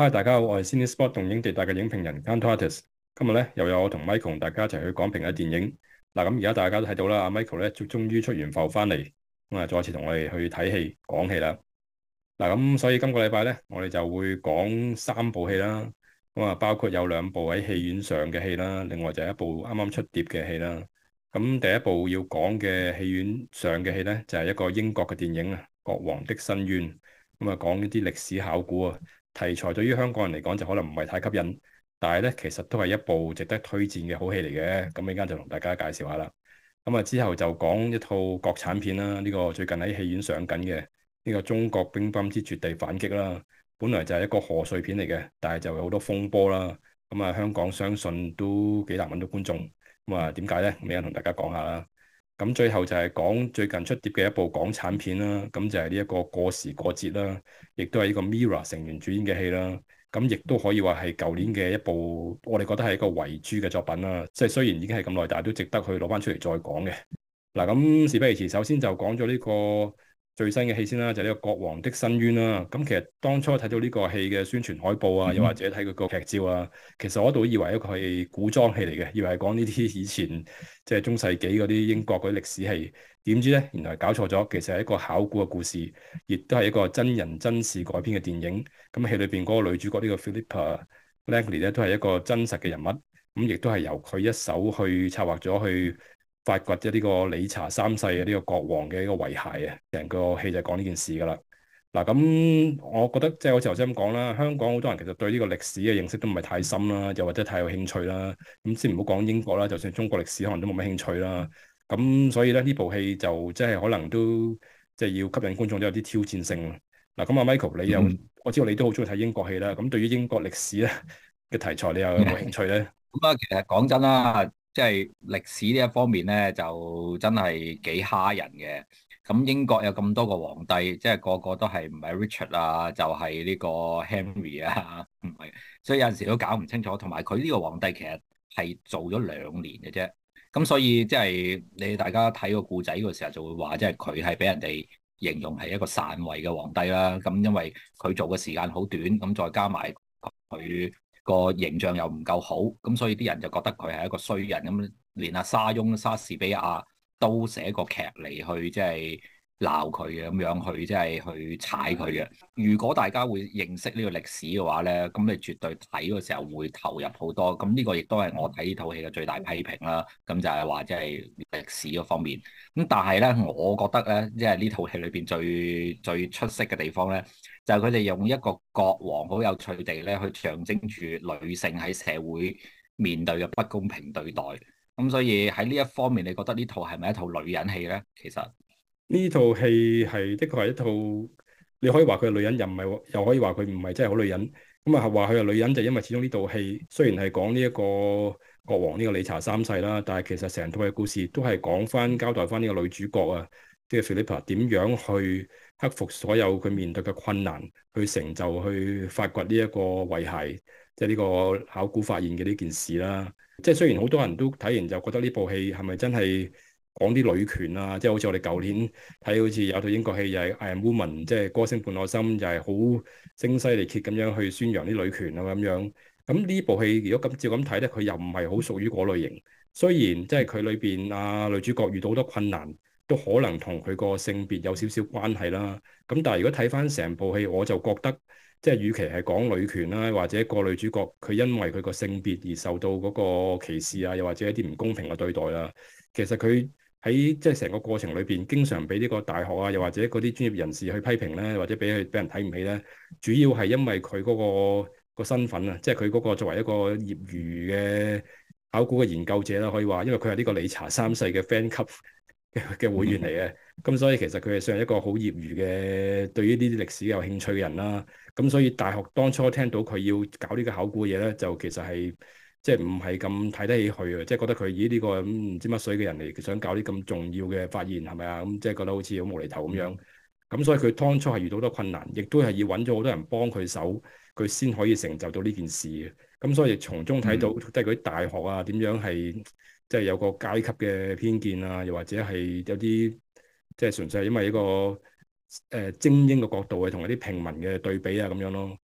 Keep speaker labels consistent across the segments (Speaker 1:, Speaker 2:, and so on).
Speaker 1: Hi，大家好，我係 Cinespot 動映地帶嘅影評人 Kantorates。今日咧又有我同 Michael 同大家一齊去講評嘅電影。嗱，咁而家大家都睇到啦，阿 Michael 咧終於出完埠翻嚟，咁啊再次同我哋去睇戲講戲啦。嗱，咁所以今個禮拜咧，我哋就會講三部戲啦。咁啊，包括有兩部喺戲院上嘅戲啦，另外就係一部啱啱出碟嘅戲啦。咁第一部要講嘅戲院上嘅戲咧，就係一個英國嘅電影啊，《國王的申冤》。咁啊，講呢啲歷史考古啊。題材對於香港人嚟講就可能唔係太吸引，但係咧其實都係一部值得推薦嘅好戲嚟嘅。咁依家就同大家介紹下啦。咁啊之後就講一套國產片啦，呢個最近喺戲院上緊嘅呢個《中國乒乓之絕地反擊》啦。本來就係一個賀歲片嚟嘅，但係就有好多風波啦。咁啊香港相信都幾難揾到觀眾。咁啊點解咧？咁依家同大家講下啦。咁最後就係講最近出碟嘅一部港產片啦，咁就係呢一個過時過節啦，亦都係呢個 MIRROR 成員主演嘅戲啦。咁亦都可以話係舊年嘅一部，我哋覺得係一個遺珠嘅作品啦。即係雖然已經係咁耐，但係都值得去攞翻出嚟再講嘅。嗱，咁事不宜遲，首先就講咗呢個最新嘅戲先啦，就係呢個《國王的申冤》啦。咁其實當初睇到呢個戲嘅宣傳海報啊，又或者睇佢個劇照啊，其實我都以為一個係古裝戲嚟嘅，以為係講呢啲以前即係中世紀嗰啲英國嗰啲歷史戲。點知咧，原來搞錯咗，其實係一個考古嘅故事，亦都係一個真人真事改編嘅電影。咁戲裏邊嗰個女主角呢個 Philippa Langley 咧，都係一個真實嘅人物。咁亦都係由佢一手去策劃咗去發掘咗呢個理查三世嘅呢個國王嘅一個遺骸啊，成個戲就講呢件事噶啦。嗱，咁我覺得即係好似頭先咁講啦，香港好多人其實對呢個歷史嘅認識都唔係太深啦，又或者太有興趣啦。咁先唔好講英國啦，就算中國歷史可能都冇乜興趣啦。咁所以咧，呢部戲就即係可能都即係要吸引觀眾都有啲挑戰性。嗱，咁阿 Michael 你又我知道你都好中意睇英國戲啦，咁對於英國歷史咧嘅題材，你又有冇興趣咧？
Speaker 2: 咁啊，其實講真啦，即係歷史呢一方面咧，就真係幾蝦人嘅。咁英國有咁多個皇帝，即係個個都係唔係 Richard 啊，就係呢個 Henry 啊，唔係，所以有陣時都搞唔清楚。同埋佢呢個皇帝其實係做咗2年嘅啫。咁所以即係你大家睇個故仔嗰時候就會話，即係佢係俾人哋形容係一個篡位嘅皇帝啦。咁因為佢做嘅時間好短，咁再加埋佢個形象又唔夠好，咁所以啲人就覺得佢係一個衰人。咁連阿沙翁、莎士比亞都寫個劇嚟去即係鬧佢嘅，咁樣去即係去踩佢嘅。如果大家會認識呢個歷史嘅話咧，咁你絕對睇嘅時候會投入好多。咁呢個亦都係我睇呢套戲嘅最大批評啦。咁就係話即係歷史嗰方面。咁但係咧，我覺得咧，即係呢套戲裏邊最出色嘅地方咧，就係佢哋用一個國王好有趣地咧，去象徵住女性喺社會面對嘅不公平對待。咁所以喺呢一方面，你覺得呢套係咪一套女人戲咧？其實
Speaker 1: 呢套戲係的確係一套，你可以話佢係女人，又唔係，又可以話佢唔係真係好女人。咁啊，話佢係女人就因為始終呢套戲雖然係講呢一個國王呢個理查三世啦，但係其實成套嘅故事都係講翻交代翻呢個女主角啊，即係 Philippa 點樣去克服所有佢面對嘅困難，去成就去發掘呢一個遺骸，即係呢個考古發現嘅呢件事啦。即係雖然好多人都睇完就覺得呢部戲係咪真係講啲女權啊？即係好似我哋舊年睇好似有套英國戲又係《I Am Woman》，即係歌聲伴我心，就係好聲嘶力竭咁樣去宣揚啲女權啊咁樣。咁呢部戲如果咁照咁睇咧，佢又唔係好屬於嗰類型。雖然即係佢裏邊女主角遇到好多困難，都可能同佢個性別有少少關係啦。咁但係如果睇翻成部戲，我就覺得即係與其係講女權啦，或者個女主角佢因為佢個性別而受到嗰個歧視啊，又或者一啲唔公平嘅對待啦，其實佢喺即係成個過程裏邊，經常俾呢個大學啊，又或者嗰啲專業人士去批評咧，或者俾人睇唔起咧，主要係因為佢個身份啊，即係佢嗰個作為一個業餘嘅考古嘅研究者啦，可以話，因為佢係呢個理查三世嘅 fan 級嘅會員嚟嘅，咁所以其實佢係算係一個好業餘嘅，對於呢啲歷史有興趣嘅人啦。咁所以大學當初聽到佢要搞呢個考古嘅嘢咧，就其實係即係唔係咁睇得起佢啊，即係覺得佢以呢個唔知乜水嘅人嚟想搞啲咁重要嘅發現係咪啊？咁即係覺得好似好無厘頭咁樣。咁所以佢當初係遇到好多困難，亦都係要揾咗好多人幫佢手，佢先可以成就到呢件事嘅。咁所以從中睇到即係嗰啲大學啊點樣係即係有個階級嘅偏見啊，又或者係有啲即係純粹係因為一個精英嘅角度去同一啲平民嘅對比啊咁樣咯。咁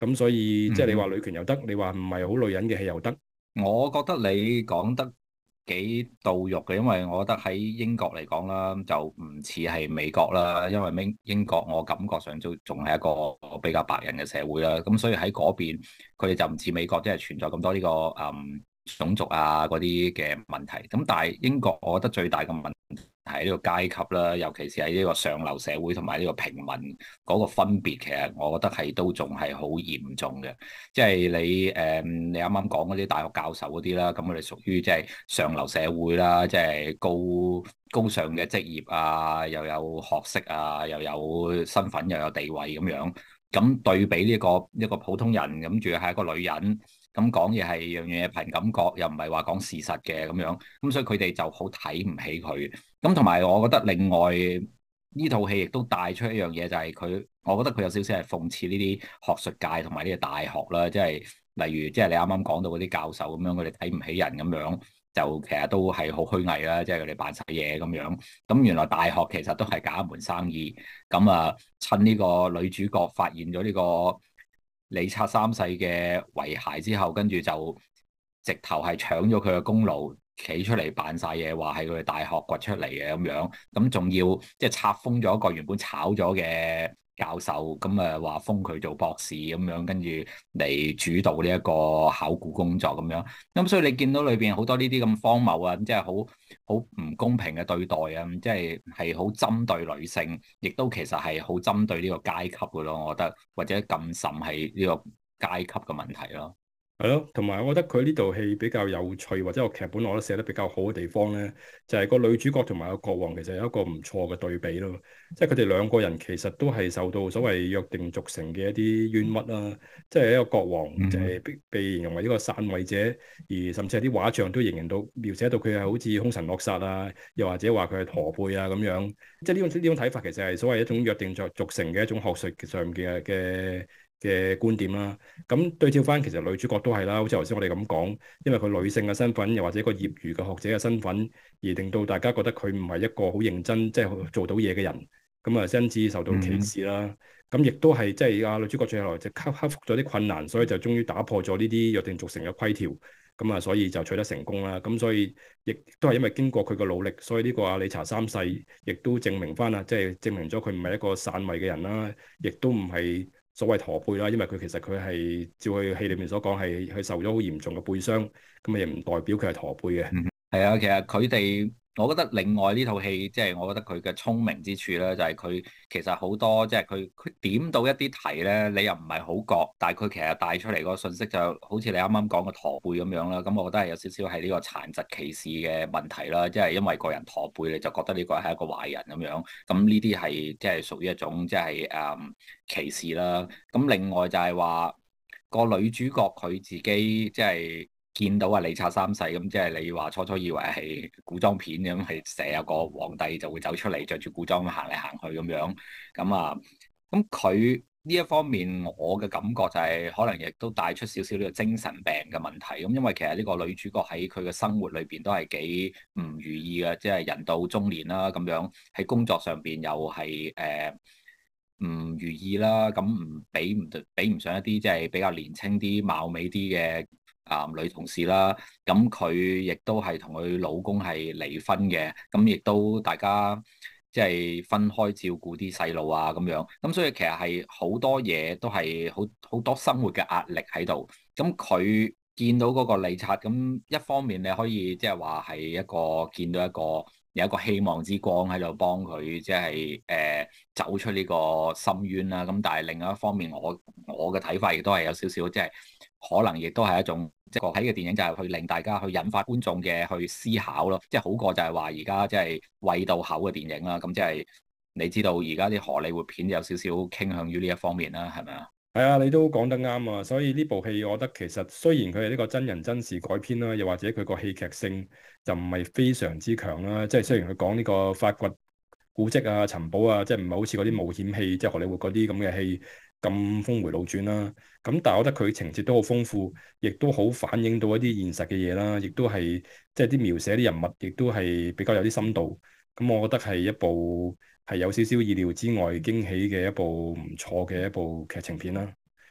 Speaker 1: 咁所以即係你話
Speaker 2: 嗯，
Speaker 1: 女權又得，你話唔係好女人嘅戲又得。
Speaker 2: 我覺得你講得幾到肉嘅，因為我覺得喺英國嚟講啦，就唔似係美國啦，因為英國我感覺上都仲係一個比較白人嘅社會啦，咁所以喺嗰邊佢哋就唔似美國，即係存在咁多呢個種族啊嗰啲嘅問題。咁但係英國，我覺得最大嘅問題係呢個階級啦，尤其是喺呢個上流社會同埋呢個平民嗰個分別，其實我覺得係都仲係好嚴重嘅。即係你啱啱講嗰啲大學教授嗰啲啦，咁佢哋屬於即係上流社會啦，即係高尚嘅職業啊，又有學識啊，又有身份，又有地位咁樣。咁對比呢一個普通人，咁仲要係一個女人，咁講嘢係樣樣嘢憑感覺，又唔係話講事實嘅咁樣。咁所以佢哋就好睇唔起佢。咁同埋我覺得另外呢套戲亦都帶出一樣嘢，就係佢，我覺得佢有少少係諷刺呢啲學術界同埋呢個大學啦，即係例如即係你啱啱講到嗰啲教授咁樣，佢哋睇唔起人咁樣，就其實都係好虛偽啦，即係佢哋扮晒嘢咁樣。咁原來大學其實都係搞一門生意。咁啊，趁呢個女主角發現咗呢個李察三世嘅遺骸之後，跟住就直頭係搶咗佢嘅功勞，企出嚟扮晒嘢，話係佢哋大學掘出嚟嘅咁樣，咁仲要即係冊封咗一個原本炒咗嘅教授，咁啊話封佢做博士咁樣，跟住嚟主導呢一個考古工作咁樣。咁所以你見到裏邊好多呢啲咁荒謬啊，即係好唔公平嘅對待啊，即係好針對女性，亦都其實係好針對呢個階級嘅咯，我覺得，或者更甚係呢個階級嘅問題咯。
Speaker 1: 係咯，同埋我覺得佢呢套戲比較有趣，或者個劇本我覺得寫得比較好嘅地方咧，就係個女主角同埋個國王其實有一個唔錯嘅對比咯。即係佢哋兩個人其實都係受到所謂約定俗成嘅一啲冤屈啦。即係一個國王就係被形容為一個篡位者，而甚至係啲畫像都形容到描寫到佢係好似兇神惡煞啊，又或者話佢係駝背啊咁樣。即係呢種睇法其實係所謂一種約定俗成嘅一種學術上嘅觀點啦。咁對照翻，其實女主角都係啦，好似頭先我哋咁講，因為佢女性嘅身份，又或者一個業餘嘅學者嘅身份，而令到大家覺得佢唔係一個好認真，即係做到嘢嘅人，咁啊，因此受到歧視啦。咁亦都係即係啊，女主角最後就克服咗啲困難，所以就終於打破咗呢啲約定俗成嘅規條，咁啊，所以就取得成功啦。咁所以亦都係因為經過佢嘅努力，所以呢個阿理查三世亦都證明翻啦，即係證明咗佢唔係一個篡位嘅人啦，亦都唔係所謂駝背啦，因為佢其實佢係照佢戲裏面所講係受咗好嚴重嘅背傷，咁啊亦唔代表佢係駝背嘅。
Speaker 2: 係啊，其實佢哋，我覺得另外呢套戲，即係我覺得佢嘅聰明之處咧，就係佢其實好多，即係佢點到一啲題咧，你又唔係好覺，但係佢其實帶出嚟個信息就好似你啱啱講嘅駝背咁樣啦。咁我覺得係有少少係呢個殘疾歧視嘅問題啦，即係因為個人駝背，你就覺得呢個係一個壞人咁樣。咁呢啲係即係屬於一種即係歧視啦。咁另外就係話個女主角佢自己即係。見到啊，李察三世咁，即係你話初初以為係古裝片咁，係成日個皇帝就會走出嚟着住古裝行嚟行去咁樣，咁啊，咁佢呢一方面，我嘅感覺就係可能亦都帶出少少呢個精神病嘅問題。咁因為其實呢個女主角喺佢嘅生活裏邊都係幾唔如意嘅，即係人到中年啦，咁樣喺工作上邊又係唔如意啦，咁比唔上一啲即係比較年輕啲、貌美啲嘅。女同事啦，咁佢亦都係同佢老公係離婚嘅，咁亦都大家即係分開照顧啲細路啊咁樣，咁所以其實係好多嘢都係好多生活嘅壓力喺度，咁佢見到嗰個李察，咁一方面你可以即係話係一個見到一個有一個希望之光喺度幫佢，即係走出呢個深淵啦，咁但係另外一方面，我嘅睇法亦都係有少少即係。可能亦都係一種即係睇嘅電影，就係去令大家去引發觀眾嘅去思考咯，即係好過就係話而家即係餵到口嘅電影啦。咁即係你知道而家啲荷里活片有少少傾向於呢一方面啦，係咪啊？
Speaker 1: 係啊，你都講得啱啊！所以呢部戲，我覺得其實雖然佢係呢個真人真事改編啦，又或者佢個戲劇性就唔係非常之強啦。即係雖然佢講呢個發掘古蹟啊、尋寶啊，即係唔係好似嗰啲冒險戲，即係荷里活嗰啲咁嘅戲咁峰迴路轉啦。咁但係我覺得佢情節都好豐富，亦都好反映到一啲現實嘅嘢啦，亦都係即係啲描寫啲人物，亦都係比較有啲深度。咁我覺得係一部係有少少意料之外驚喜嘅一部唔錯嘅一部劇情片啦。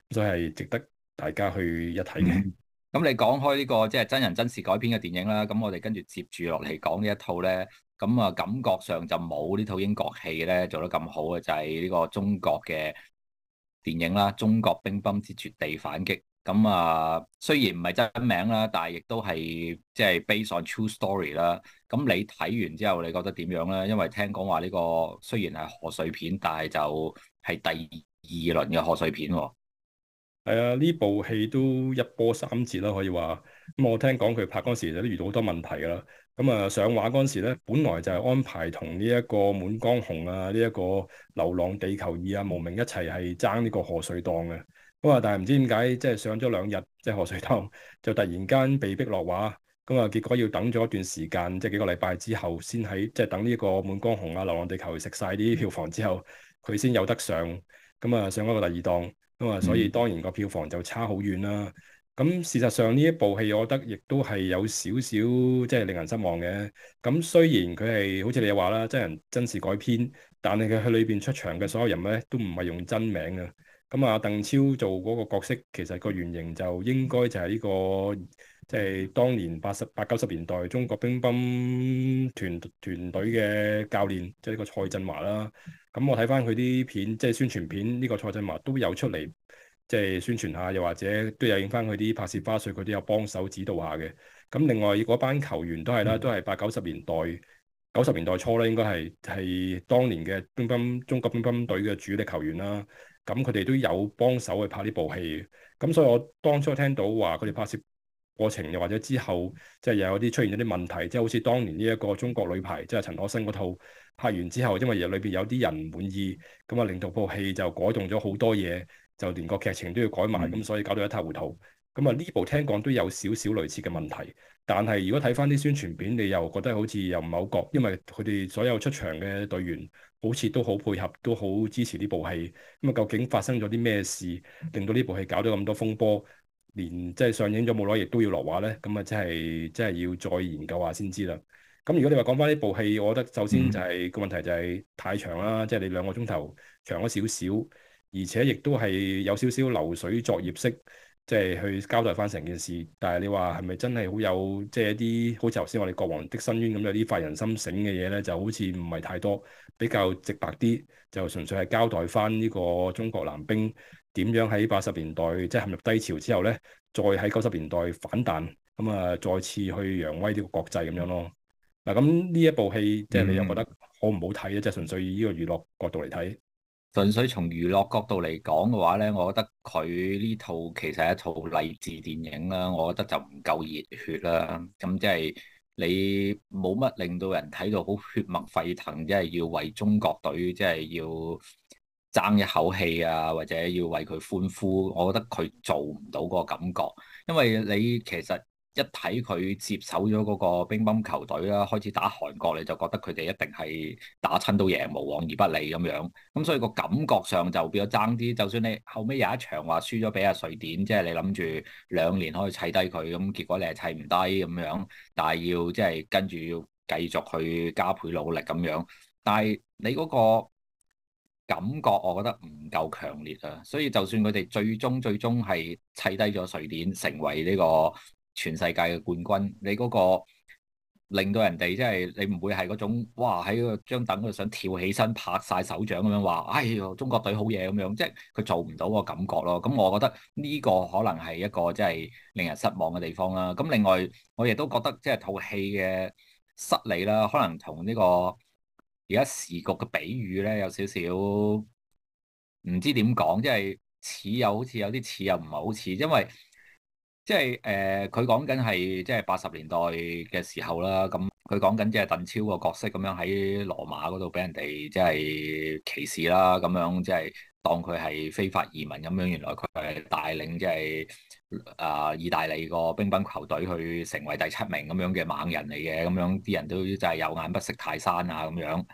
Speaker 1: 所以係值得大家去一睇嘅。
Speaker 2: 咁你講開呢個即係真人真事改編嘅電影啦，咁我哋跟住接住落嚟講呢一套咧，咁啊感覺上就冇呢套英國戲咧做得咁好嘅，就係呢個中國嘅電影啦，《中國乒乓之絕地反擊》。咁啊，雖然唔係真名啦，但係亦都係即係 based on true story 啦。咁你睇完之後，你覺得點樣咧？因為聽講話呢個雖然係賀歲片，但係就係第二輪嘅賀歲片喎。
Speaker 1: 係啊，呢部戲都一波三折啦，可以話。咁我聽講佢拍嗰時就都遇到好多問題㗎啦。咁啊上畫嗰時咧，本來就係安排同呢一個《滿江紅》啊、呢一個《流浪地球二》啊、《無名》一齊係爭呢個賀歲檔嘅。咁啊，但係唔知點解即係上咗2日即係賀歲檔，就突然間被逼落畫。咁啊，結果要等咗一段時間，即係幾個禮拜之後，先喺即係等呢個《滿江紅》啊、《流浪地球》食晒啲票房之後，佢先有得上。咁啊，上咗個第二檔。咁啊，所以當然個票房就差好遠啦。咁事實上呢一部戲，我覺得亦都係有少少即係令人失望嘅。咁雖然佢係好似你話啦，真人真事改編，但係佢喺裏邊出場嘅所有人咧，都唔係用真名嘅。咁啊，鄧超做嗰個角色，其實個原型就應該就係呢個即係當年80、90年代中國乒乓團隊嘅教練，即係呢個蔡振華啦。咁我睇翻佢啲片，即係宣傳片，呢個蔡振華都有出嚟，即係宣傳下，又或者都有影翻佢啲拍攝花絮，佢都有幫手指導下嘅。咁另外嗰班球員都係啦，都係80、90年代、90年代初咧，應該係當年嘅中國乒乓隊嘅主力球員啦。咁佢哋都有幫手去拍呢部戲。咁所以我當初聽到話佢哋拍攝過程，又或者之後即係又有啲出現咗啲問題，即係好似當年呢一個中國女排，即係陳可辛嗰套拍完之後，因為裏邊有啲人唔滿意，咁啊令到部戲就改動咗好多嘢，就連個劇情都要改埋，咁所以搞到一塌糊塗。咁啊呢部聽講都有少少類似嘅問題，但係如果睇翻啲宣傳片，你又覺得好似又唔係好覺，因為佢哋所有出場嘅隊員好似都好配合，都好支持呢部戲。咁啊究竟發生咗啲咩事，令到呢部戲搞到咁多風波？連即係上映咗冇耐，亦都要落畫咧，咁啊，即係要再研究下先知啦。咁如果你話講翻呢部戲，我覺得首先就係個問題就係太長啦，即係你2個鐘頭長咗少少，而且亦都係有少少流水作業式，即係去交代翻成件事。但係你話係咪真係好有即係一啲好似頭先我哋國王的申冤咁有啲發人心醒嘅嘢咧？就好似唔係太多，比較直白啲，就純粹係交代翻呢個中國男兵點樣喺80年代即係陷入低潮之後咧，再喺90年代反彈，咁啊再次去揚威呢個國際咁樣咯。嗱，咁呢一部戲即係你又覺得好唔好睇咧？即係純粹以呢個娛樂角度嚟睇。
Speaker 2: 純粹從娛樂角度嚟講嘅話咧，我覺得佢呢套其實係一套勵志電影啦，我覺得就唔夠熱血啦。咁即係你冇乜令到人睇到好血脈沸騰，即係要為中國隊即係要爭一口氣啊，或者要為佢歡呼。我覺得佢做唔到嗰個感覺，因為你其實一睇佢接手咗嗰個乒乓球隊啦，開始打韓國，你就覺得佢哋一定係打親都贏，無往而不利咁樣。咁所以個感覺上就變咗爭啲。就算你後尾有一場話輸咗俾阿瑞典，即係你諗住2年可以砌低佢，咁結果你係砌唔低咁樣，但係要即係跟住要繼續去加倍努力咁樣。但係你嗰個感覺，我覺得唔夠強烈啊。所以就算佢哋最終係砌低咗瑞典，成為呢個全世界嘅冠軍，你嗰個令到人哋即係你唔會係嗰種哇喺個張凳度想跳起身拍晒手掌咁樣話，哎喲中國隊好嘢咁樣，即係佢做唔到個感覺咯。咁我覺得呢個可能係一個即係令人失望嘅地方啦。咁另外我亦都覺得即係套戲嘅失利啦，可能同呢個而家時局嘅比喻咧有少少唔知點講，即係似又好似有啲似又唔係好似，因為即係佢講緊係即係80年代嘅時候啦，咁佢講緊即係鄧超個角色咁樣喺羅馬嗰度俾人哋即係歧視啦，咁樣即係當佢係非法移民咁樣，原來佢係帶領即係意大利個乒乓球隊去成為第7名咁樣嘅猛人嚟嘅，咁樣啲人都真係有眼不識泰山啊咁樣。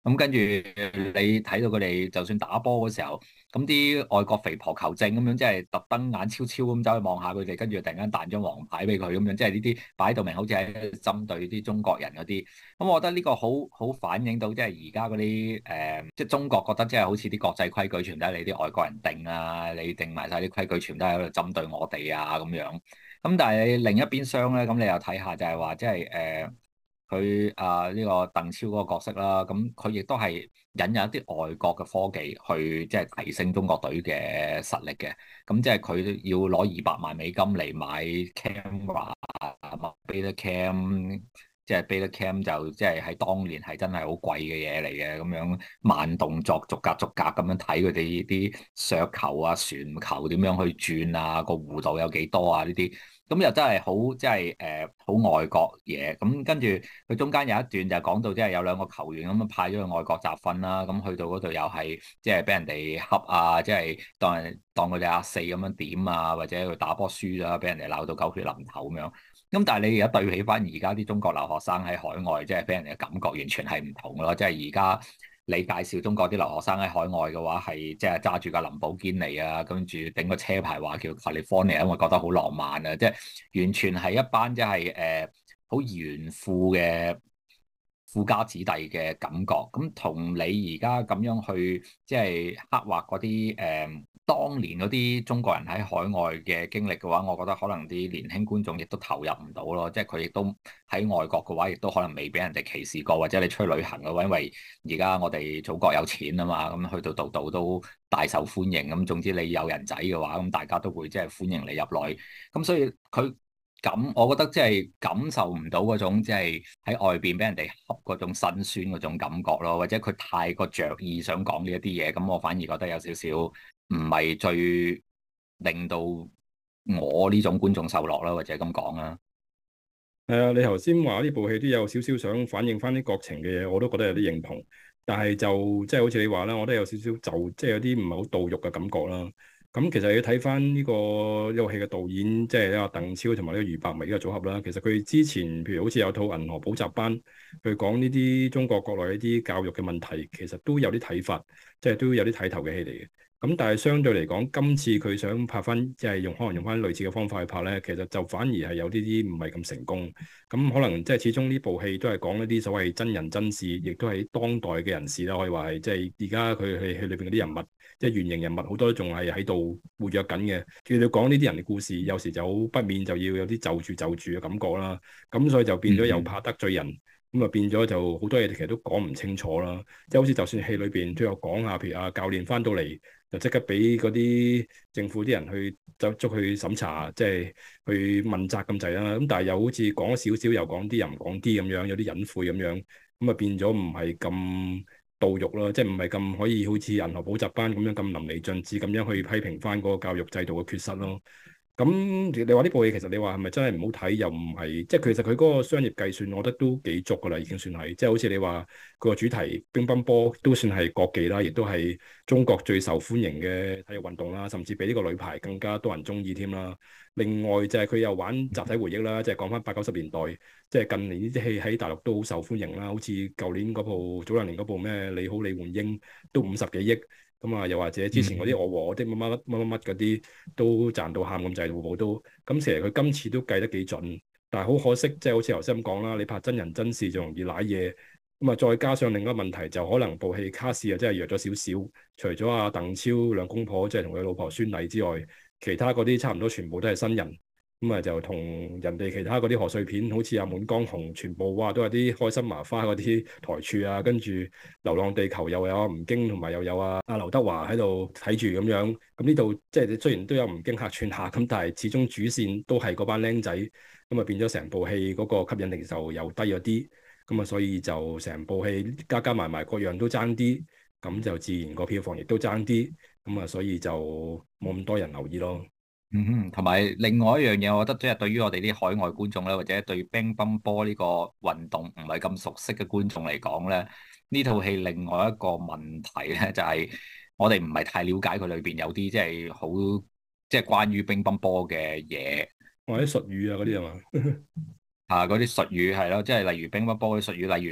Speaker 2: 咁跟住你睇到佢哋就算打波嗰時候，咁啲外國肥婆球證咁樣，即係特登眼超超咁走去望下佢哋，跟住突然間彈張黃牌俾佢咁樣，即係呢啲擺到明好似係針對啲中國人嗰啲。咁我覺得呢個好反映到即係而家嗰啲即係中國覺得即係好似啲國際規矩全都係你啲外國人定啊，你定埋晒啲規矩全都係喺度針對我哋啊咁樣。咁但係你另一邊廂咧，咁你又睇下就係話即係佢呢個鄧超嗰個角色啦，咁佢亦都係引入一啲外國嘅科技去即係提升中國隊嘅實力嘅。咁即係佢要攞200萬美金嚟買 camera、買 beta cam，即係 beta cam 就即係喺當年係真係好貴嘅嘢嚟嘅。咁樣慢動作逐格逐格咁樣睇佢哋啲削球啊、旋球點樣去轉啊，個弧度有幾多啊呢啲。咁又真係好，即係好外國嘢。咁跟住佢中間有一段就講到，即係有兩個球員咁樣派咗去外國集訓啦。咁去到嗰度又係即係俾人哋恰啊，即係當佢哋阿四咁樣點啊，或者佢打波輸啦，俾人哋鬧到狗血淋頭咁樣。咁但係你而家對比翻而家啲中國留學生喺海外，即係俾人哋嘅感覺完全係唔同咯。即係而家你介紹中國啲留學生喺海外嘅話，係即係揸住架林寶堅尼啊，跟住頂個車牌話叫 California，因為覺得好浪漫啊！即係完全係一班即係好炫富嘅富家子弟嘅感覺。咁同你而家咁樣去即係刻畫嗰啲當年嗰啲中國人喺海外嘅經歷嘅話，我覺得可能啲年輕觀眾亦都投入唔到咯。即係佢亦都喺外國嘅話，亦都可能未俾人哋歧視過，或者你出去旅行嘅話，因為而家我哋祖國有錢啊嘛，咁去到度度都大受歡迎。咁總之你有人仔嘅話，咁大家都會即係歡迎你入來。咁所以佢我覺得即係感受唔到嗰種即係喺外邊俾人哋恰嗰種辛酸嗰種感覺咯，或者佢太過着意想講呢一啲嘢，咁我反而覺得有少少唔係最令到我呢種觀眾受落啦，或者咁講啦。
Speaker 1: 係啊，你頭先話呢部戲都有少少想反映翻啲國情嘅嘢，我都覺得有啲認同。但係就即係好似你話啦，我都有少少即係有啲唔係好到肉嘅感覺啦。咁其實要睇翻呢個戲嘅導演，即係呢個鄧超同埋呢個俞伯眉呢個組合啦。其實佢之前譬如好似有套《銀河補習班》，去講呢啲中國國內一啲教育嘅問題，其實都有啲睇法，即係都有啲睇頭嘅戲嚟嘅。咁但係相對嚟講，今次佢想拍翻，即係可能用翻類似嘅方法去拍咧，其實就反而係有啲唔係咁成功。咁可能即係始終呢部戲都係講一啲所謂真人真事，亦都係當代嘅人士啦，可以話係即係而家佢戲裏邊嗰啲人物，即係原型人物好多都仲係喺度活躍緊嘅。叫你講呢啲人嘅故事，有時就好不免就要有啲就住嘅感覺啦。咁所以就變咗又怕得罪人。咁啊變咗就好多嘢其實都講唔清楚啦，即係好似就算戲裏邊都有講下，譬如教練翻到嚟就即刻俾嗰啲政府啲人去捉去審查，即係去問責咁滯啦。咁但係又好似講咗少少，又講啲又唔講啲咁樣，有啲隱晦咁樣，咁啊變咗唔係咁到肉咯，即係唔係咁可以好似銀河補習班咁樣咁淋漓盡致咁樣去批評翻嗰個教育制度嘅缺失咯。咁你話呢部戲其實你話係咪真係唔好睇？又唔係，即係其實佢嗰個商業計算，我覺得都幾足噶啦，已經算係。即係好似你話個主題乒乓波都算係國技啦，亦都係中國最受歡迎嘅體育運動啦，甚至比呢個女排更加多人中意添啦。另外就係佢又玩集體回憶啦，即係講翻80、90年代，即係近年呢啲戲喺大陸都好受歡迎啦。好似舊年嗰部早兩年嗰部咩你好李煥英都50幾億。咁啊，又或者之前嗰啲我和我的乜乜乜乜乜嗰啲都賺到喊咁滯，部部都咁。其實佢今次都計得幾準，但係好可惜，即係好似頭先咁講啦，你拍真人真事就容易瀨嘢。咁啊，再加上另一個問題就可能部戲卡士啊真係弱咗少少，除咗阿鄧超兩公婆即係同佢老婆孫儷之外，其他嗰啲差唔多全部都係新人。咁啊，就同人哋其他嗰啲賀歲片，好似阿滿江紅，全部哇都係啲開心麻花嗰啲台柱啊，跟住流浪地球又有阿吳京，同埋又有阿劉德華喺度睇住咁樣。咁呢度即係雖然都有吳京客串下，咁但係始終主線都係嗰班僆仔，咁啊變咗成部戲嗰個吸引力就又低咗啲。咁啊，所以就成部戲加加埋埋各樣都爭啲，咁就自然個票房亦都爭啲。咁啊，所以就冇咁多人留意咯。
Speaker 2: 嗯哼，同埋另外一樣嘢，我覺得即係對於我哋啲海外觀眾咧，或者對乒乓波呢個運動唔係咁熟悉嘅觀眾嚟講咧，呢套戲另外一個問題咧，就係我哋唔係太了解佢裏邊有啲即係好即係關於乒乓波嘅嘢，
Speaker 1: 或者術語啊嗰啲係嘛？
Speaker 2: 嗰啲術語係咯，即係例如乒乓波嘅術語，例如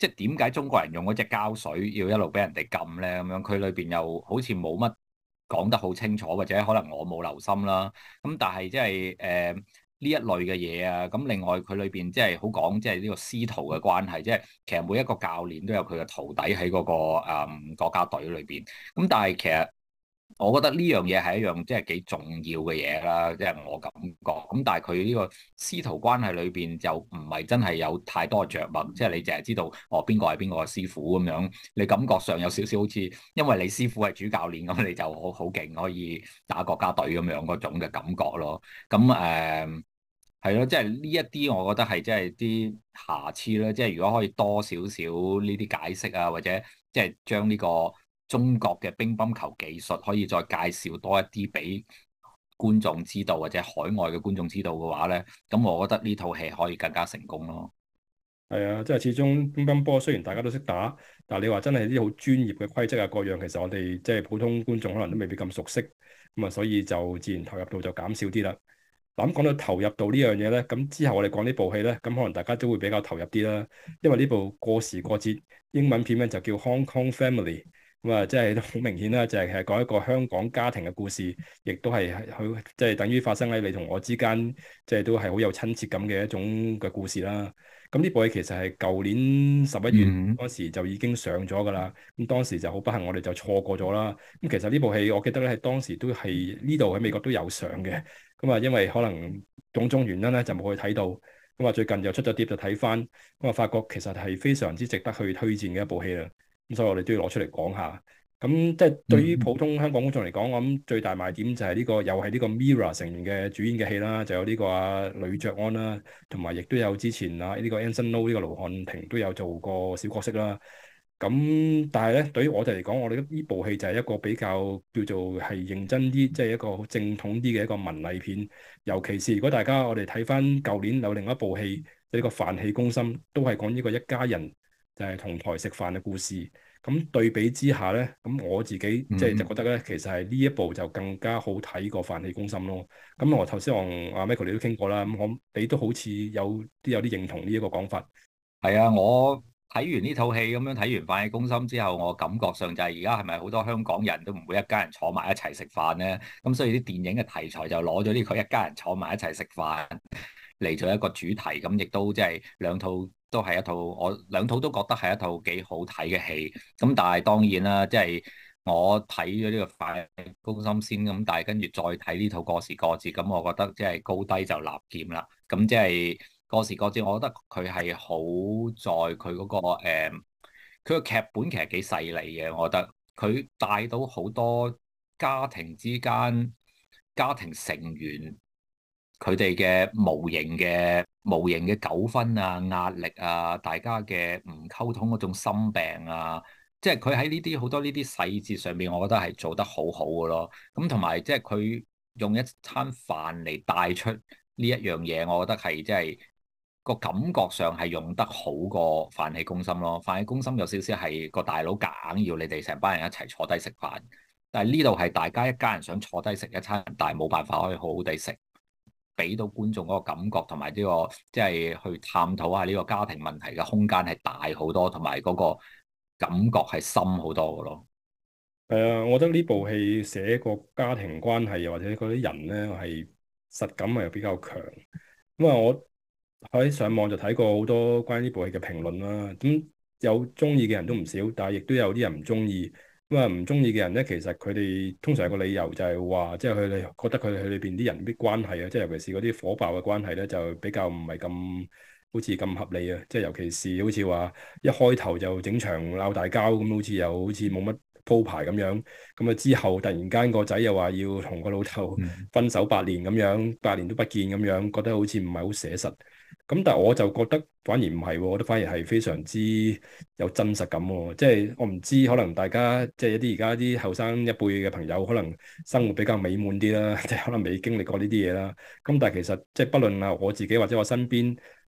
Speaker 2: 即係點解中國人用嗰隻膠水要一路俾人哋禁咧？咁樣佢裏邊又好似冇乜講得好清楚，或者可能我冇留心啦。咁但係即係呢一類嘅嘢啊，咁另外佢裏邊即係好講即係呢個師徒嘅關係，即係其實每一個教練都有佢嘅徒弟喺嗰個國家隊裏邊。咁但係其實我覺得呢樣嘢係一樣即係幾重要嘅嘢啦，即係我感覺。咁但係佢呢個師徒關係裏邊就唔係真係有太多着墨，即係你淨係知道哦邊個係邊個嘅師傅咁樣，你感覺上有少少好似因為你師傅係主教練咁，你就好勁可以打國家隊咁樣嗰種嘅感覺咯。咁係咯，即係呢一啲我覺得係即係啲瑕疵啦。即係如果可以多少少呢啲解釋啊，或者即係將呢個中國嘅乒乓球技術可以再介紹多一啲俾觀眾知道，或者海外嘅觀眾知道嘅話咧，咁我覺得呢套戲可以更加成功咯。
Speaker 1: 係啊，即係始終乒乓波雖然大家都識打，但係你話真係啲好專業嘅規則啊各樣，其實我哋即係普通觀眾可能都未必咁熟悉，咁啊所以就自然投入度就減少啲啦。嗱咁講到投入度呢樣嘢咧，咁之後我哋講呢部戲咧，咁可能大家都會比較投入啲啦，因為呢部過時過節英文片咧就叫 Hong Kong Family，咁啊即係都好明顯啦，就係講一個香港家庭嘅故事，亦都係佢即係等於發生喺你同我之間，即係都係好有親切感嘅一種嘅故事啦。咁呢部戲其實係舊年11月
Speaker 2: 嗯
Speaker 1: 嗰時就已經上咗㗎啦，咁當時就好不幸我哋就錯過咗啦。咁其實呢部戲我記得咧係當時都係呢度喺美國都有上嘅。咁啊，因為可能種種原因咧，就冇去睇到。咁啊，最近又出咗碟就睇翻，咁啊，發覺其實係非常之值得去推薦嘅一部戲啦。咁所以我哋都要攞出嚟講下。咁即係對於普通香港觀眾嚟講，我諗最大賣點就係呢個又係呢個 Mirror 成員嘅主演嘅戲啦，就有呢個呂爵安啦，同埋亦都有之前呢個 Anson Lo 呢個盧瀚霆都有做過小角色啦。咁但係咧，對於我哋嚟講，我哋呢部戲就係一個比較叫做係認真啲，即係一個好正統啲嘅一個文藝片。尤其是如果大家我哋睇翻舊年有另一部戲，呢個《飯戲攻心》，都係講呢個一家人就係同台食飯嘅故事。咁對比之下咧，咁我自己即係就覺得咧，其實係呢一部就更加好睇過《飯戲攻心》咯。咁我頭先我同阿 Michael 你都傾過啦，咁你都好似有啲認同呢一個講法。
Speaker 2: 係啊，我睇完呢套戲咁樣睇完《飯戲攻心》之後，我感覺上就係而家係咪好多香港人都唔會一家人坐埋一齊食飯咧？咁所以啲電影嘅題材就攞咗呢個一家人坐埋一齊食飯嚟做一個主題，咁亦都即係兩套都係一套，我兩套都覺得係一套幾好睇嘅戲。咁但係當然啦，即係我睇咗呢個《飯戲攻心》先，咁但係跟住再睇呢套《過時過節》，咁我覺得即係高低就立劍啦。咁即係。過時過節，我覺得佢係好在佢嗰個佢個劇本其實幾細膩嘅。我覺得佢帶到好多家庭之間、家庭成員佢哋嘅無形嘅糾紛啊、壓力啊、大家嘅唔溝通嗰種心病啊，即係佢喺呢啲好多呢啲細節上面，我覺得係做得好好嘅咯。咁同埋即係佢用一餐飯嚟帶出呢一樣嘢，我覺得係即係。個感覺上係用得好過飯戲攻心咯，飯戲攻心有少少係個大佬夾硬要你哋成班人一齊坐低食飯，但係呢度係大家一家人想坐低食一餐，但係冇辦法可以好好地食，俾到觀眾嗰個感覺同埋呢個即係去探討下呢個家庭問題嘅空間係大好多，同埋嗰個感覺係深好多嘅咯。
Speaker 1: 係啊，我覺得呢部戲寫個家庭關係，又或者嗰啲人咧係實感係比較強。咁啊，我喺上網就睇過好多關於呢部戲嘅評論啦。咁有中意嘅人都唔少，但係亦都有啲人唔中意。咁啊，唔中意嘅人咧，其實佢哋通常有個理由就係話，即係佢哋覺得佢哋裏邊啲人啲關係啊，即係尤其是嗰啲火爆嘅關係咧，就比較唔係咁好似咁合理啊。即係尤其是好似話一開頭就整場鬧大交咁，好似冇乜鋪排咁樣。咁啊之後突然間個仔又話要同個老豆分手8年咁樣，8年都不見咁樣，覺得好似唔係好寫實。咁但係我就覺得反而唔係喎，我覺得反而係非常之有真實感喎。即係我唔知，可能大家即係一啲而家啲後生一輩嘅朋友，可能生活比較美滿啲啦，即係可能未經歷過呢啲嘢啦。咁但係其實即係不論啊我自己或者我身邊，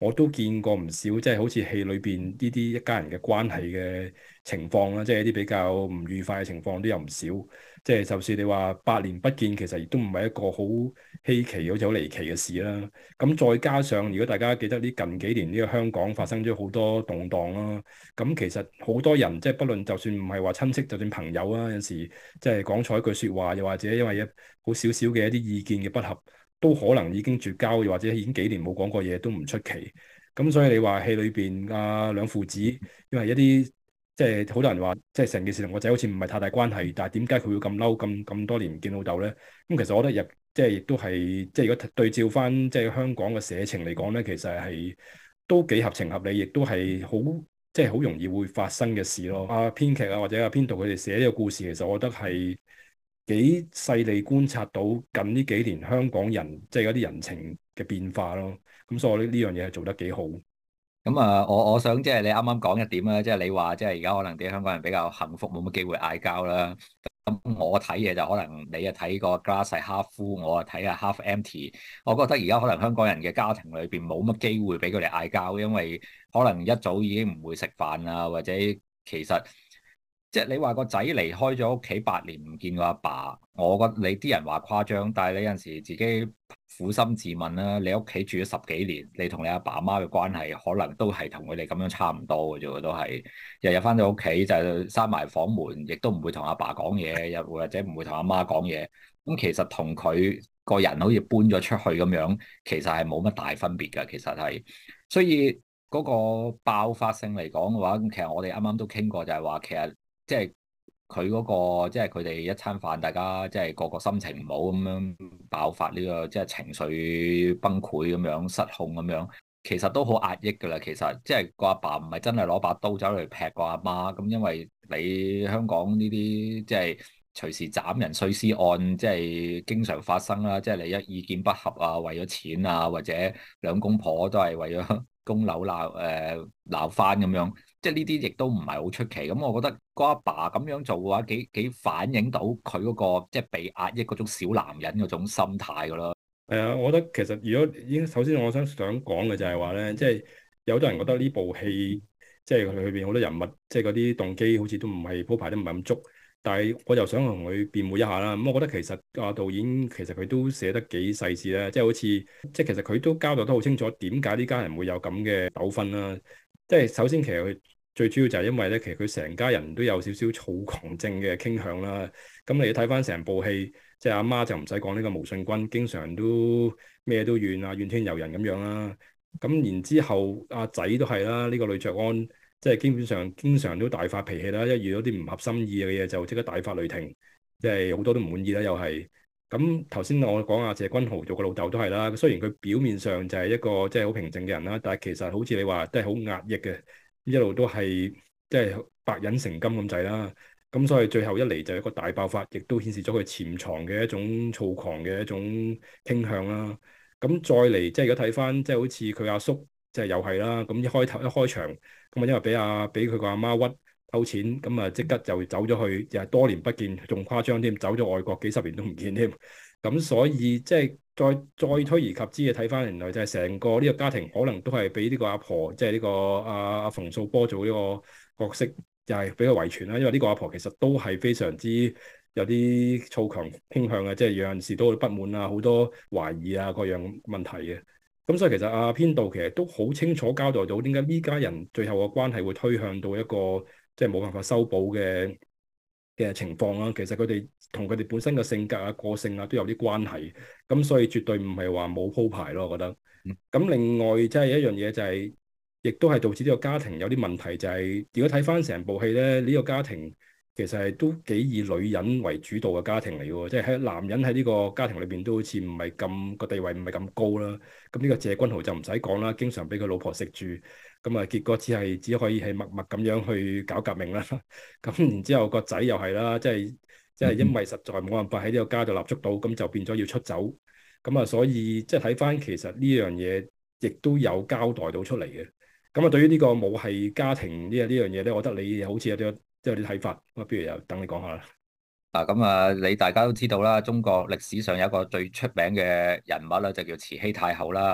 Speaker 1: 我都見過唔少，即係好似戲裏邊呢啲一家人嘅關係嘅情況啦，即係一啲比較唔愉快嘅情況都有唔少。即係就算你話8年不見，其實亦都唔係一個好稀奇、好似好離奇嘅事啦。咁再加上，如果大家記得呢近幾年呢個香港發生咗好多動盪啦，咁其實好多人即係不論就算唔係話親戚，就算朋友啊，有時即係講錯一句説話，又或者因為好少少嘅一啲意見嘅不合，都可能已經絕交，又或者已經幾年冇講過嘢都唔出奇。咁所以你話戲裏邊兩父子，因為一啲即係好多人話，即係成件事同個仔好似唔係太大關係，但係點解佢會咁嬲咁多年唔見老豆咧？咁其實我覺得即係亦都係即係如果對照翻即係香港嘅社情嚟講咧，其實係都幾合情合理，亦都係好即係好容易會發生嘅事咯。編劇或者編導佢哋寫呢個故事，其實我覺得係幾細膩觀察到近呢幾年香港人即係嗰啲人情嘅變化咯。咁所以我覺得呢樣嘢係做得幾好。
Speaker 2: 咁啊，我想即係你啱啱講一點啦，即係你話即係而家可能啲香港人比較幸福，冇乜機會嗌交啦。咁我睇嘢就可能你啊睇個 glass 係 half full，我啊睇下 half empty。我覺得而家可能香港人嘅家庭裏邊冇乜機會俾佢哋嗌交，因為可能一早已經唔會食飯啊，或者其實即係你話個仔離開咗屋企8年唔見個阿爸，我覺得你啲人話誇張，但係你有陣時自己苦心自問啦，你屋企住咗10幾年，你同你阿爸阿媽嘅關係可能都係同佢哋咁樣差唔多嘅啫，都係日日翻到屋企就閂埋房門，亦都唔會同阿爸講嘢，又或者唔會同阿媽講嘢。咁其實同佢個人好似搬咗出去咁樣，其實係冇乜大分別㗎。其實係，所以嗰個爆發性嚟講嘅話，其實我哋啱啱都傾過，就係話其實即係。佢嗰個即係佢哋一餐飯，大家即係個個心情唔好咁樣爆發呢個即係情緒崩潰咁樣失控咁樣，其實都好壓抑㗎啦。其實即係個阿爸唔係真係攞把刀走嚟劈個阿媽咁，因為你香港呢啲即係隨時斬人碎屍案，即係經常發生啦。即係你一意見不合啊，為咗錢啊，或者兩公婆都係為咗供樓鬧翻咁樣。即係呢啲亦都唔係好出奇，咁我覺得個阿爸咁樣做嘅話，幾反映到佢嗰個即係被壓抑嗰種小男人嗰種心態噶咯。
Speaker 1: 係啊，我覺得其實如果已經首先我想講嘅就係話咧，即係有好多人覺得呢部戲即係佢裏邊好多人物，即係嗰啲動機好似都唔係鋪排得唔係咁足，但係我又想同佢辯護一下啦。咁我覺得其實導演其實佢都寫得幾細緻咧，即係好似即係其實佢都交代得好清楚點解呢家人會有咁嘅糾紛啦。即係首先其實佢最主要就係因為咧，其實佢成家人都有少少躁狂症嘅傾向啦。咁你睇翻成部戲，即係阿媽就唔使講呢個毛舜筠，經常都咩都怨啊，怨天尤人咁樣啦。咁然之後阿仔都係啦，呢個呂爵安即係基本上經常都大發脾氣啦，一遇到啲唔合心意嘅嘢就即刻大發雷霆，即係好多都唔滿意啦，又係。咁頭先我講阿謝君豪做個老豆都係啦，雖然佢表面上就係一個即係好平靜嘅人啦，但係其實好似你話都係好壓抑嘅。一路都係即係白忍成金咁滯啦，咁所以最後一嚟就一個大爆發，亦都顯示咗佢潛藏嘅一種躁狂嘅一種傾向啦。咁再嚟即係如果睇翻即係好似佢阿叔，即係又係啦。咁一開場咁啊，因為俾佢個阿媽屈偷錢，咁啊即刻就走咗去，又係多年不見，仲誇張添，走咗外國幾十年都唔見添。咁所以即係再推而及之嘅睇翻，原來就係成個呢個家庭可能都係俾呢個阿婆，即係呢個阿馮素波做呢個角色，又係俾佢遺傳啦。因為呢個阿婆其實都係非常之有啲躁狂傾向嘅，即係有陣時都會不滿啊，好多懷疑啊各樣問題嘅。咁所以其實編導其實都好清楚交代到點解呢家人最後嘅關係會推向到一個即係冇辦法修補嘅情況啦。其實佢哋同佢哋本身嘅性格啊、個性啊都有啲關係，咁所以絕對唔係話冇鋪排咯。我覺得。咁另外即係一樣嘢就係，亦都係導致呢個家庭有啲問題，就係如果睇翻成部戲咧，呢個家庭其實係都幾以女人為主導嘅家庭嚟嘅喎，即係男人喺呢個家庭裏邊都好似唔係咁個地位唔係咁高啦。咁呢個謝君豪就唔使講啦，經常俾佢老婆食住。咁啊，結果只可以係默默咁樣去搞革命啦。咁然之後個仔又係啦，即係因為實在冇辦法喺呢個家度立足到，咁就變咗要出走。咁啊，所以即係睇翻其實呢樣嘢，亦都有交代到出嚟嘅。咁啊，對於呢個母系家庭呢樣嘢咧，我覺得你好似有啲睇法。咁啊，不如又等你講下啦。
Speaker 2: 咁啊，你大家都知道啦，中國歷史上有一個最出名嘅人物啦，就叫慈禧太后啦。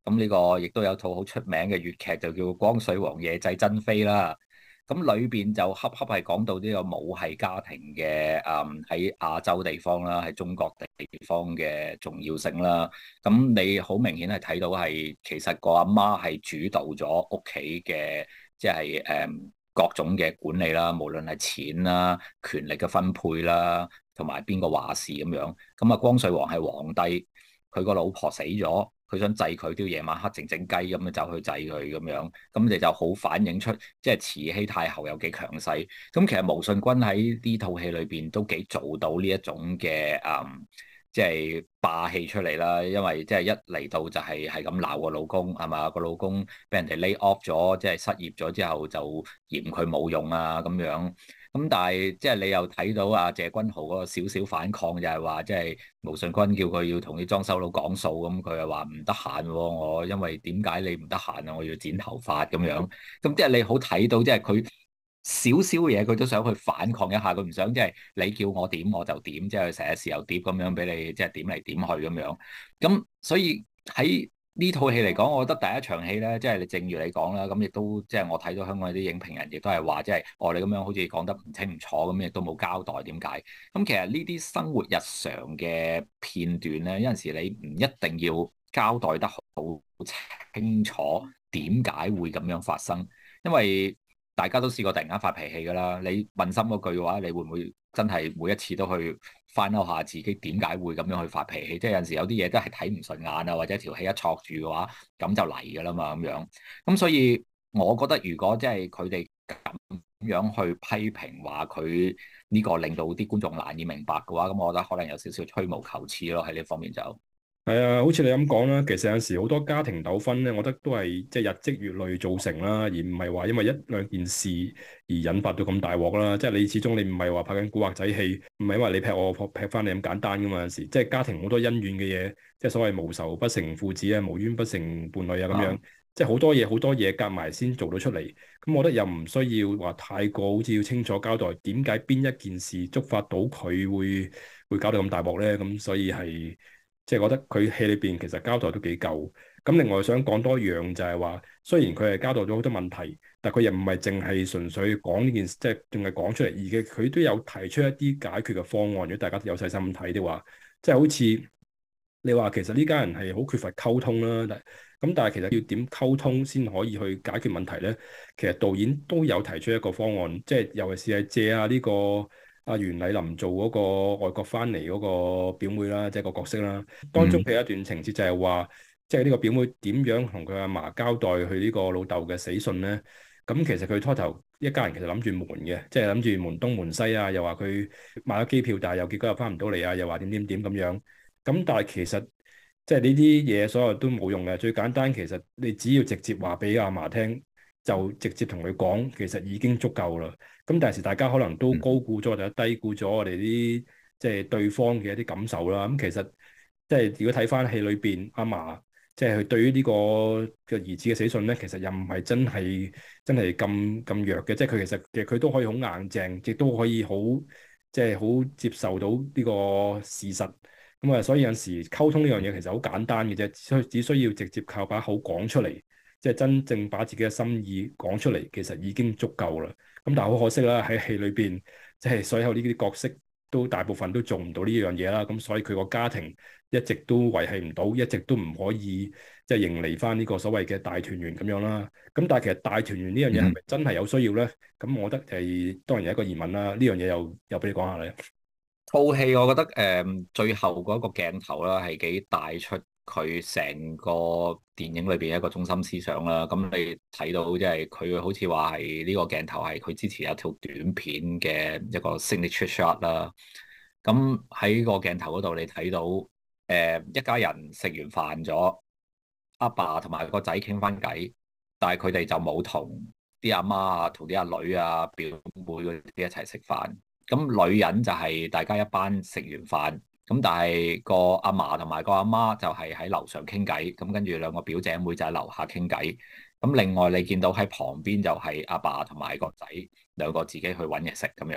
Speaker 2: 咁呢個亦都有套好出名嘅粵劇就叫《光緒王夜祭珍妃》啦。咁裏邊就恰恰係講到呢個母系家庭嘅喺亞洲地方啦，喺中國地方嘅重要性啦。咁你好明顯係睇到係其實個阿媽係主導咗屋企嘅即係各種嘅管理啦，無論係錢啦、權力嘅分配啦，同埋邊個話事咁樣。咁啊，光緒王係皇帝，佢個老婆死咗。佢想祭佢，都要夜晚黑靜靜雞咁樣走去祭佢咁樣，咁你就好反映出即係慈禧太后有幾強勢。咁其實毛舜筠喺呢套戲裏邊都幾做到呢一種嘅即係霸氣出嚟啦。因為即係一嚟到就係咁鬧個老公係嘛，個老公俾人哋 lay off 咗，即係失業咗之後就嫌佢冇用啊咁樣。咁但係即係你又睇到阿謝君豪嗰個少少反抗，就係話即係毛舜筠叫佢要同啲裝修佬講數，咁佢又話唔得閒喎，我因為點解你唔得閒啊？我要剪頭髮咁樣。咁即係你好睇到，即係佢少少嘢佢都想去反抗一下，佢唔想即係你叫我點我就點，即係成日時又碟咁樣俾你即係點嚟點去咁樣。咁所以喺呢套戲嚟講，我覺得第一場戲咧，即係你正如你講啦，咁亦都即係我睇到香港啲影評人亦都係話，即係我哋咁樣好似講得唔清唔楚咁，亦都冇交代點解。咁其實呢啲生活日常嘅片段咧，有陣時你唔一定要交代得好清楚點解會咁樣發生，因為大家都試過突然間發脾氣㗎啦。你問心嗰句嘅話，你會唔會真係每一次都去翻嬲下自己點解會咁樣去發脾氣？即係有陣時有啲嘢都係睇唔順眼啊，或者條氣一戳住嘅話，咁就嚟㗎啦嘛咁樣。咁所以我覺得如果即係佢哋咁樣去批評話佢呢個令到啲觀眾難以明白嘅話，咁我覺得可能有少少吹毛求疵咯，喺呢方面就。
Speaker 1: 係啊，好似你咁講啦，其實有陣時好多家庭糾紛咧，我覺得都係即係日積月累造成啦，而唔係話因為一兩件事而引發到咁大鑊啦。即係你始終你唔係話拍緊古惑仔戲，唔係因為你劈我劈翻你咁簡單噶嘛。有陣時即係家庭好多恩怨嘅嘢，即係所謂無仇不成父子啊，無冤不成伴侶啊咁樣，即係好多嘢夾埋先做到出嚟。咁我覺得又唔需要話太過好似要清楚交代點解邊一件事觸發到佢會搞到咁大鑊咧。咁所以係。即係覺得佢戲裏邊其實交代都幾夠，咁另外想講多樣就係話，雖然佢係交代咗好多問題，但佢又唔係淨係純粹講呢件事，即係淨係講出嚟，而嘅佢都有提出一啲解決嘅方案。如果大家有細心睇的話，即係好似你話其實呢家人係好缺乏溝通啦，但係其實要點溝通先可以去解決問題咧？其實導演都有提出一個方案，即係尤其是係借呢個。阿袁麗琳做嗰個外國翻嚟嗰個表妹啦，即係個角色啦。當中佢有一段情節就係話，即係呢個表妹點樣同佢阿嫲交代佢呢個老豆嘅死訊咧？咁其實佢初頭一家人其實諗住瞞嘅，即係諗住瞞東瞞西啊，又話佢買咗機票，但係又結果又翻唔到嚟啊，又話點點點咁樣。咁但係其實即係呢啲嘢所有都冇用嘅。最簡單其實你只要直接話俾阿嫲聽，就直接同佢講，其實已經足夠啦。咁但係時大家可能都高估咗或者低估咗我哋啲即係對方嘅一啲感受啦。咁其實即係如果睇翻戲裏邊阿嫲，即係佢對於呢個嘅兒子嘅死訊咧，其實又唔係真係咁弱嘅。即係佢其實佢都可以好硬淨，亦都可以好即係好接受到呢個事實。咁啊，所以有陣時溝通呢樣嘢其實好簡單嘅啫，只需要直接靠把口講出嚟。即係真正把自己嘅心意講出嚟，其實已經足夠啦。咁但係好可惜啦，喺戲裏邊，即係所有呢啲角色都大部分都做唔到呢樣嘢啦。咁所以佢個家庭一直都維繫唔到，一直都唔可以即係迎嚟翻呢個所謂嘅大團圓咁樣啦。咁但係其實大團圓呢樣嘢係咪真係有需要咧？咁我覺得係當然有一個疑問啦。呢樣嘢又俾你講下咧。
Speaker 2: 套戲我覺得最後嗰個鏡頭啦係幾帶出佢成個電影裏邊一個中心思想啦。咁你睇到即係佢好似話係呢個鏡頭係佢之前有條短片嘅一個 signature shot 啦。咁喺個鏡頭嗰度你睇到一家人食完飯咗，阿爸同埋個仔傾翻偈，但係佢哋就冇同啲阿媽啊、同啲阿女啊、表妹嗰啲一齊食飯。咁女人就係大家一班食完飯，咁但係個阿嫲同埋個阿媽就係喺樓上傾偈，咁跟住兩個表姐妹就喺樓下傾偈。咁另外你見到喺旁邊就係阿爸同埋個仔兩個自己去揾嘢食咁樣。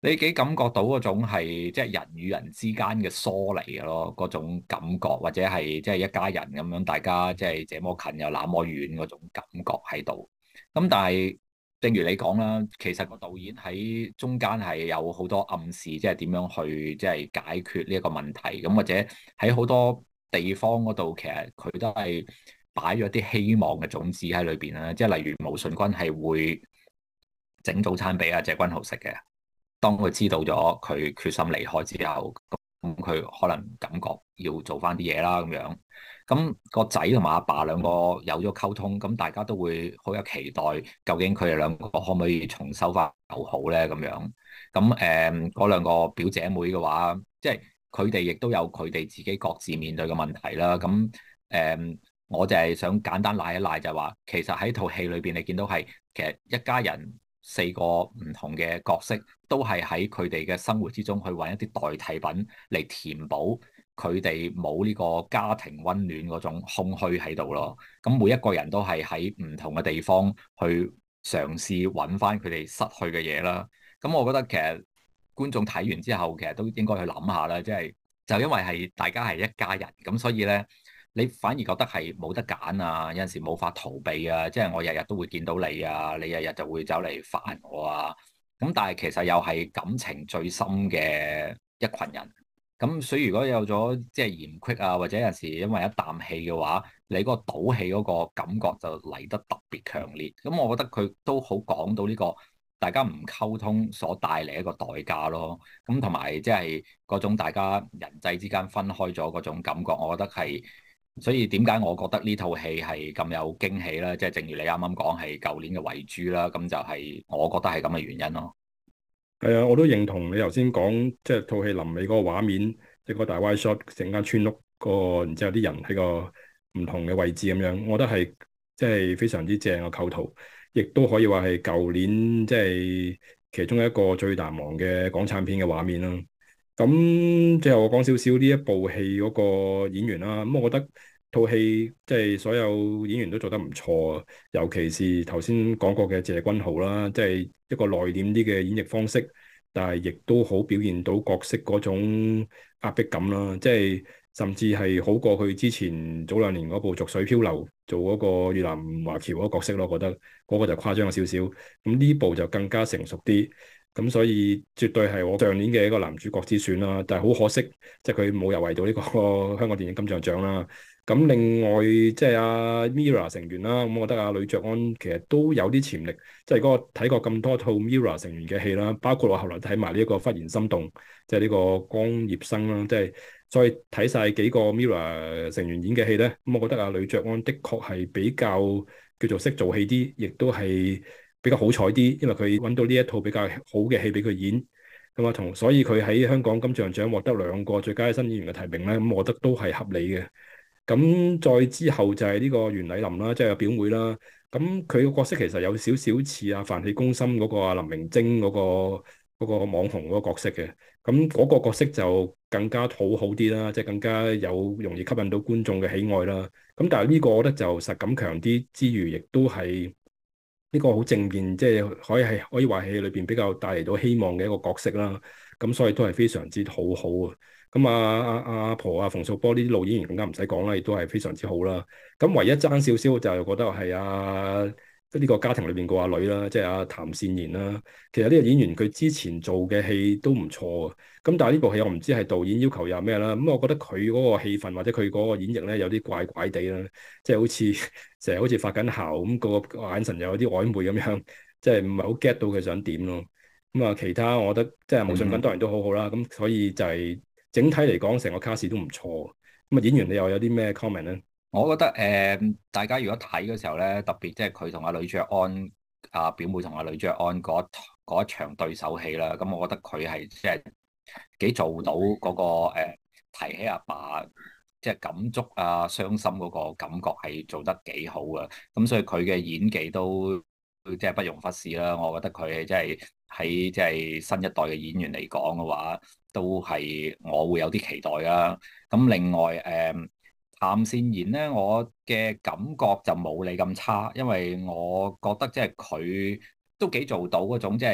Speaker 2: 你幾感覺到嗰種係即係人與人之間嘅疏離嘅咯，嗰種感覺，或者係即係一家人咁樣，大家即係這麼近又那麼遠嗰種感覺喺度。咁但係正如你講啦，其實個導演喺中間係有好多暗示，即係點樣去即係解決呢一個問題。咁或者喺好多地方嗰度，其實佢都係擺咗啲希望嘅種子喺裏邊啦。即係例如毛舜筠係會整早餐俾阿謝君豪食嘅。當佢知道咗佢決心離開之後，咁佢可能感覺要做翻啲嘢啦咁樣。咁個仔同埋阿爸兩個有咗溝通，咁大家都會好有期待，究竟佢哋兩個可唔可以重修翻友好咧？咁樣咁嗰兩個表姐妹嘅話，即係佢哋亦都有佢哋自己各自面對嘅問題啦。咁我就係想簡單賴一賴，就係話其實喺套戲裏邊，你見到係其實一家人四個唔同嘅角色，都係喺佢哋嘅生活之中去揾一啲代替品嚟填補佢哋冇呢個家庭溫暖嗰種空虛喺度咯。咁每一個人都係喺唔同嘅地方去嘗試揾翻佢哋失去嘅嘢啦。咁我覺得其實觀眾睇完之後，其實都應該去諗下啦，即係就因為係大家係一家人，咁所以咧，你反而覺得係冇得揀啊，有陣時冇法逃避啊，即係我日日都會見到你啊，你日日就會走嚟煩我啊。咁但係其實又係感情最深嘅一群人。咁所以如果有咗即係嫌隙啊，或者有陣時因為一啖氣嘅話，你嗰個賭氣嗰個感覺就嚟得特別強烈。咁我覺得佢都好講到呢個大家唔溝通所帶嚟一個代價咯。咁同埋即係嗰種大家人際之間分開咗嗰種感覺，我覺得係。所以點解我覺得呢套戲係咁有驚喜咧？即係正如你啱啱講係舊年嘅遺珠啦，咁就係我覺得係咁嘅原因咯。
Speaker 1: 係啊，我都認同你頭先講，即係套戲臨尾嗰個畫面，即係個大 wide shot，成間村屋個，然之後啲人喺個唔同嘅位置咁樣，我覺得係即係非常之正嘅構圖，亦都可以話係舊年即係其中一個最難忘嘅港產片嘅畫面啦。咁最後我講少少呢一部戲嗰個演員啦，咁我覺得套戲即係所有演員都做得唔錯啊，尤其是頭先講過嘅謝君豪啦，即係一個內斂啲嘅演繹方式，但係亦都好表現到角色嗰種壓迫感啦，即係甚至係好過佢之前早2年嗰部《濁水漂流》做嗰個越南華僑嗰個角色咯，我覺得嗰個就誇張咗少少，咁呢部就更加成熟啲。咁所以絕對係我上年嘅一個男主角之選啦，但係好可惜，即係佢冇入圍到呢個香港電影金像獎啦。咁另外即係阿 Mirror 成員啦，咁我覺得阿呂爵安其實都有啲潛力，即係嗰個睇過咁多套 Mirror 成員嘅戲啦，包括我後來睇埋呢一個忽然心動，即係呢個江業生啦，即係再睇晒幾個 Mirror 成員演嘅戲咧，咁我覺得阿呂爵安的確係比較叫做識做戲啲，亦都係比較好彩啲，因為佢揾到呢一套比較好嘅戲俾佢演，咁啊所以佢喺香港金像獎獲得2個最佳新演員嘅提名咧，咁我覺得都係合理嘅。咁再之後就係呢個袁澧林啦，即係個表妹啦。咁佢個角色其實有少少似啊《飯戲攻心》嗰個啊林明禎嗰個網紅嗰個角色嘅。咁嗰個角色就更加討好啲啦，即係更加有容易吸引到觀眾嘅喜愛啦。咁但係呢個我覺得就實感強啲之餘，亦都係呢個好正面，即係可以話戲裏邊比較帶嚟到希望嘅一個角色啦。咁所以都係非常之討好啊。咁阿婆啊馮素波呢啲老演員更加唔使講啦，亦都係非常之好啦。咁唯一爭少少就係覺得係呢個家庭裏邊個阿女啦，即係阿譚善言啦。其實呢個演員佢之前做嘅戲都唔錯啊。咁但係呢部戲我唔知係導演要求又咩啦。咁我覺得佢嗰個戲份或者佢嗰個演繹咧有啲怪怪地啦，即係好似成日好似發緊姣咁，個眼神又有啲曖昧咁樣，即係唔係好 get 到佢想點咯。咁啊，其他我覺得即係毛舜筠當然都好好啦。咁所以就係整體嚟講，成個卡士都唔錯。咁啊，演員你又有啲咩 comment 咧？
Speaker 2: 我覺得大家如果睇嘅時候咧，特別即係佢同阿呂爵安表妹同阿呂爵安嗰一場對手戲啦，咁我覺得佢係即係幾做到嗰個提起阿爸即係感觸啊、傷心嗰個感覺係做得幾好啊。咁所以佢嘅演技都即係不容忽視啦。我覺得佢即係喺即係新一代嘅演員嚟講嘅話，都係我會有啲期待啦。咁另外譚善言咧，我嘅感覺就冇你咁差，因為我覺得即係佢都幾做到嗰種即係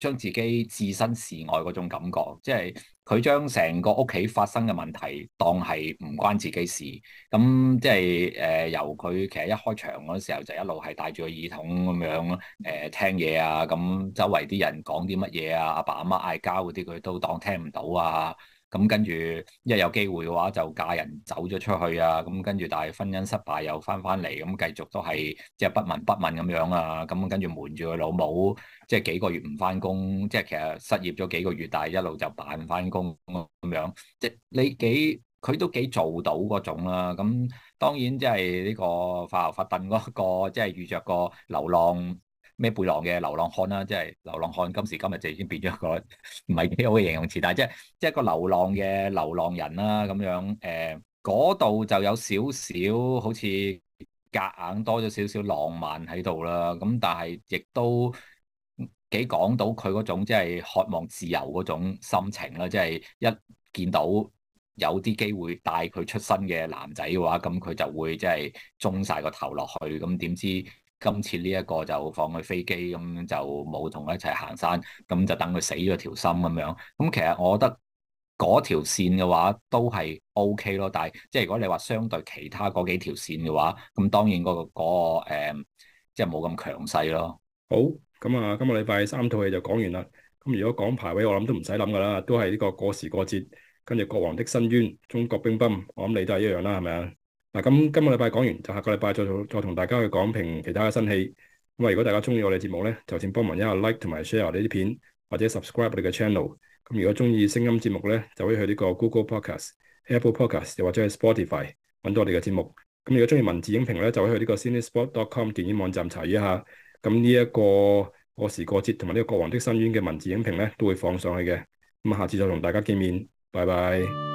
Speaker 2: 將自己置身事外嗰種感覺，即係佢將成個屋企發生嘅問題當係唔關自己事，咁即係由佢其實一開場嗰時候就一路係戴住個耳筒咁樣聽嘢啊，咁周圍啲人講啲乜嘢啊，阿爸阿媽嗌交嗰啲佢都當聽唔到啊。咁跟住一有機會嘅話就嫁人走咗出去啊，咁跟住但係婚姻失敗又翻嚟，咁繼續都係即係不聞不問咁樣啊，咁跟住瞞住佢老母，即係幾個月唔翻工，即係其實失業咗幾個月，但係一路就扮翻工咁樣，即係佢都幾做到嗰種啦。咁當然即係呢個發牛發燉嗰個，即係遇着個流浪孭背囊嘅流浪漢啦，即係流浪漢今時今日就已經變咗一個唔係幾好嘅形容詞，但係即係一個流浪嘅流浪人啦咁樣。嗰度就有少少好似夾硬多咗少少浪漫喺度啦，咁但係亦都幾講到佢嗰種即係渴望自由嗰種心情啦，即係一見到有啲機會帶佢出身嘅男仔嘅話，咁佢就會即係中晒個頭落去，咁點知今次呢一個就放佢飛機，咁就冇同佢一齊行山，咁就等佢死咗條心咁樣。咁其實我覺得嗰條線嘅話都係 OK 咯，但係即係如果你話相對其他嗰幾條線嘅話，咁當然即係冇咁強勢咯。
Speaker 1: 好，咁啊，今個禮拜3套戲就講完啦。咁如果講排位，我諗都唔使諗噶啦，都係呢個過時過節，跟住《國王的申冤》、中國乒乓，我諗你都係一樣啦，係咪啊？嗱，咁今個禮拜講完，就下個禮拜再同大家去講評其他嘅新戲。咁啊，如果大家中意我哋節目咧，就請幫忙一下 like 同埋 share 我哋啲片，或者 subscribe 我哋嘅 channel。咁如果中意聲音節目咧，就可以去呢個 Google Podcast、Apple Podcast 又或者係 Spotify 揾到我哋嘅節目。咁如果中意文字影評咧，就可以去呢個 Cinespot.com 電影網站查閱一下。咁呢一個過時過節同埋呢個《國王的申冤》嘅文字影評咧，都會放上去嘅。咁下次再同大家見面，拜拜。